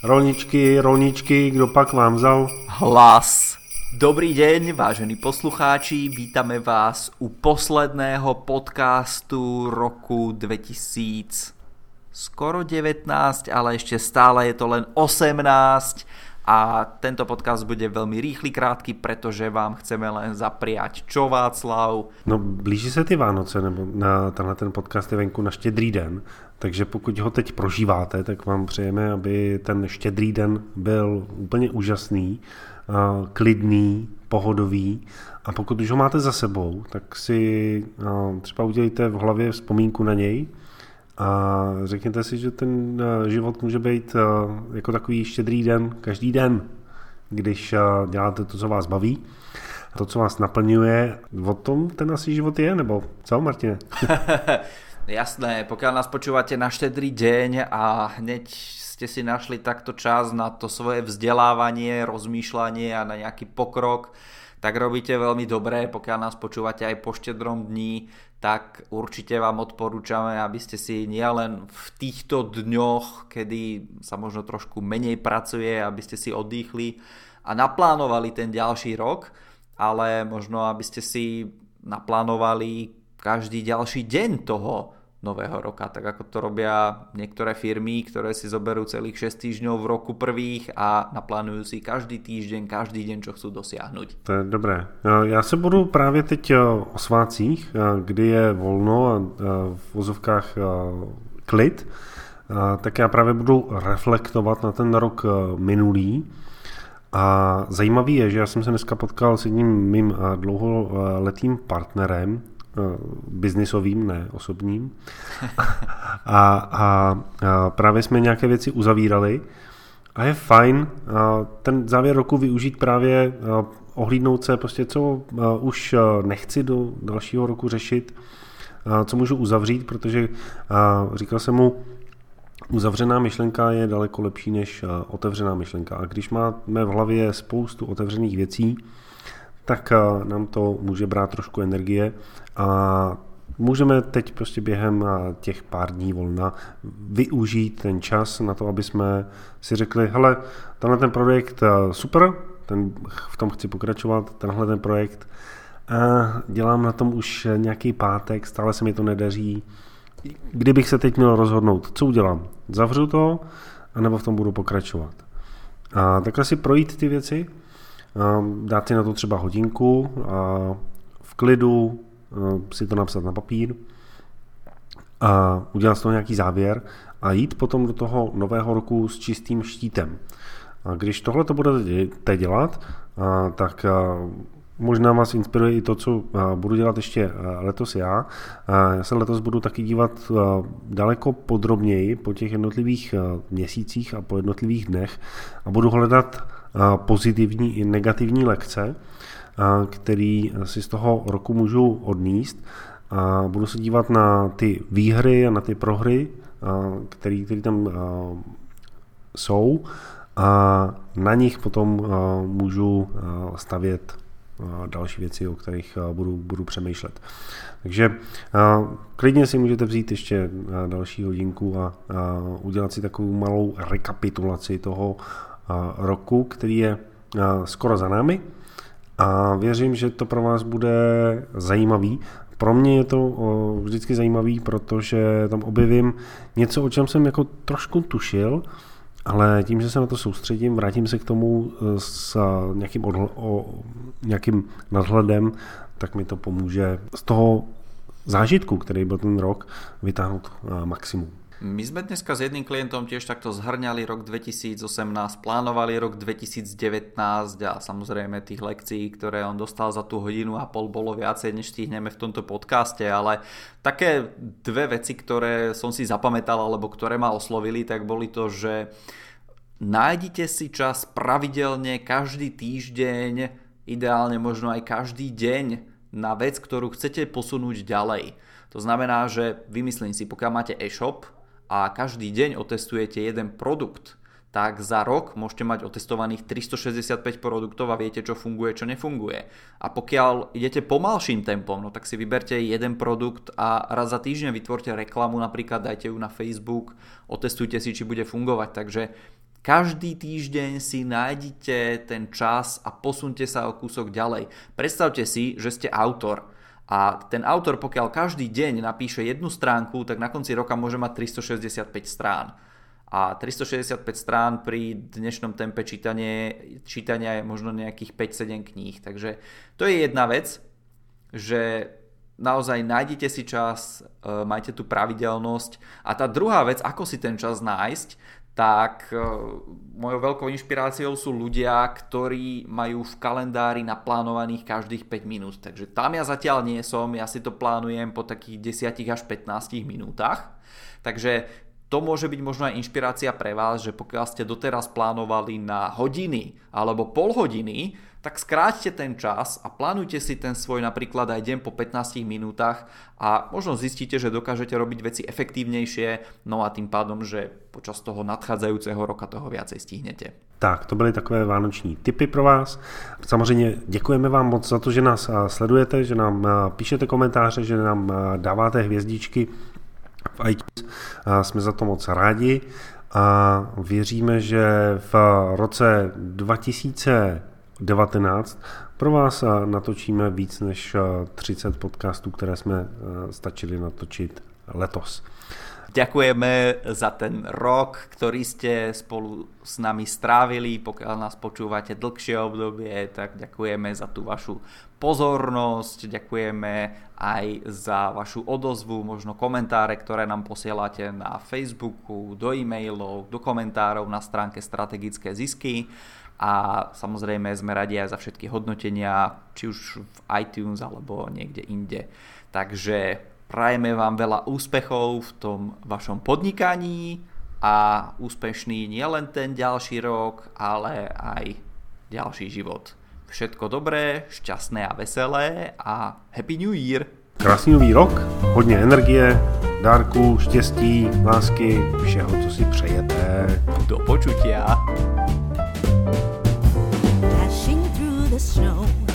Rolničky, kdo pak vám vzal? Hlas. Dobrý deň, vážení poslucháči, vítame vás u posledného podcastu roku 2000. Skoro 19, ale ešte stále je to len 18 a tento podcast bude veľmi rýchly, krátky, pretože vám chceme len zapriať. Čo, Václav? No, blíží se ty Vánoce, nebo na tenhle ten podcast je venku na Štědrý den, takže pokud ho teď prožíváte, tak vám přejeme, aby ten Štědrý den byl úplně úžasný, klidný, pohodový, a pokud už ho máte za sebou, tak si třeba udělejte v hlavě vzpomínku na něj a řekněte si, že ten život může být jako takový štědrý den každý den, když děláte to, co vás baví, to, co vás naplňuje. O tom ten asi život je, nebo co, Martine? Jasné, pokiaľ nás počúvate na Štedrý deň a hneď ste si našli takto čas na to svoje vzdelávanie, rozmýšľanie a na nejaký pokrok, tak robíte veľmi dobré. Pokiaľ nás počúvate aj po Štedrom dni, tak určite vám odporúčame, aby ste si nielen v týchto dňoch, kedy sa možno trošku menej pracuje, aby ste si oddychli a naplánovali ten ďalší rok, ale možno aby ste si naplánovali každý ďalší deň toho nového roka, tak ako to robia niektoré firmy, ktoré si zoberú celých 6 týždňov v roku prvých a naplánujú si každý týždeň, každý deň, čo chcú dosiahnuť. To je dobré. Já se budu právě teď o svácích, kdy je volno a v vozovkách klid, tak já právě budu reflektovat na ten rok minulý. A zajímavý je, že já jsem se dneska potkal s jedním mým dlouholetým partnerem, biznisovým, ne osobním. A právě jsme nějaké věci uzavírali a je fajn ten závěr roku využít právě ohlídnout se prostě, co už nechci do dalšího roku řešit, co můžu uzavřít, protože říkal jsem mu, uzavřená myšlenka je daleko lepší než otevřená myšlenka. A když máme v hlavě spoustu otevřených věcí, tak nám to může brát trošku energie a můžeme teď prostě během těch pár dní volna využít ten čas na to, aby jsme si řekli, hele, tenhle ten projekt super, v tom chci pokračovat, tenhle ten projekt dělám na tom už nějaký pátek, stále se mi to nedaří. Kdybych se teď měl rozhodnout, co udělám? Zavřu to, anebo v tom budu pokračovat? A takhle si projít ty věci, dát si na to třeba hodinku a v klidu si to napsat na papír a udělat z toho nějaký závěr a jít potom do toho nového roku s čistým štítem. A když tohle to budete dělat, tak možná vás inspiruje i to, co budu dělat ještě letos já. Já se letos budu taky dívat daleko podrobněji po těch jednotlivých měsících a po jednotlivých dnech a budu hledat pozitivní i negativní lekce, který si z toho roku můžu odníst. A budu se dívat na ty výhry a na ty prohry, které tam jsou, a na nich potom můžu stavět další věci, o kterých budu přemýšlet. Takže klidně si můžete vzít ještě další hodinku a udělat si takovou malou rekapitulaci toho roku, který je skoro za námi, a věřím, že to pro vás bude zajímavý. Pro mě je to vždycky zajímavý, protože tam objevím něco, o čem jsem jako trošku tušil, ale tím, že se na to soustředím, vrátím se k tomu s nějakým nadhledem, tak mi to pomůže z toho zážitku, který byl ten rok, vytáhnout maximum. My sme dneska s jedným klientom tiež takto zhrňali rok 2018, plánovali rok 2019 a samozrejme tých lekcií, ktoré on dostal za tú hodinu a pol, bolo viacej, než stihneme v tomto podcaste, ale také dve veci, ktoré som si zapamätal alebo ktoré ma oslovili, tak boli to, že nájdite si čas pravidelne každý týždeň, ideálne možno aj každý deň, na vec, ktorú chcete posunúť ďalej. To znamená, že vymyslím si, pokiaľ máte e-shop a každý deň otestujete jeden produkt, tak za rok môžete mať otestovaných 365 produktov a viete, čo funguje, čo nefunguje. A pokiaľ idete pomalším tempom, no tak si vyberte jeden produkt a raz za týždeň vytvorte reklamu, napríklad dajte ju na Facebook, otestujte si, či bude fungovať. Takže Každý týždeň si nájdite ten čas a posunte sa o kúsok ďalej. Predstavte si, že ste autor. A ten autor, pokiaľ každý deň napíše jednu stránku, tak na konci roka môže mať 365 strán. A 365 strán pri dnešnom tempe čítania je možno nejakých 5-7 kníh. Takže to je jedna vec, že naozaj nájdete si čas, majte tú pravidelnosť. A tá druhá vec, ako si ten čas nájsť, tak mojou veľkou inšpiráciou sú ľudia, ktorí majú v kalendári naplánovaných každých 5 minút. Takže tam ja zatiaľ nie som, ja si to plánujem po takých 10 až 15 minútach. Takže to môže byť možno aj inšpirácia pre vás, že pokiaľ ste doteraz plánovali na hodiny alebo pol hodiny, tak skráťte ten čas a plánujte si ten svoj napríklad aj deň po 15 minútach a možno zistíte, že dokážete robiť veci efektívnejšie, no a tým pádom, že počas toho nadchádzajúceho roka toho viacej stihnete. Tak, to byly takové vánoční tipy pro vás. Samozřejmě děkujeme vám moc za to, že nás sledujete, že nám píšete komentáře, že nám dáváte hvězdičky v iTunes. Jsme za to moc rádi a věříme, že v roce 2019 pro vás natočíme víc než 30 podcastů, které jsme stačili natočit letos. Ďakujeme za ten rok, ktorý ste spolu s nami strávili. Pokiaľ nás počúvate dlhšie obdobie, tak ďakujeme za tú vašu pozornosť, ďakujeme aj za vašu odozvu, možno komentáre, ktoré nám posielate na Facebooku, do e-mailov, do komentárov na stránke Strategické zisky. A samozrejme sme radi aj za všetky hodnotenia, či už v iTunes alebo niekde inde. Takže prajeme vám veľa úspechov v tom vašom podnikaní a úspešný nielen ten ďalší rok, ale aj ďalší život. Všetko dobré, šťastné a veselé a Happy New Year! Krásný nový rok, hodně energie, dárků, štěstí, lásky, všeho, co si přejete. Do počutia! Dashing through the snow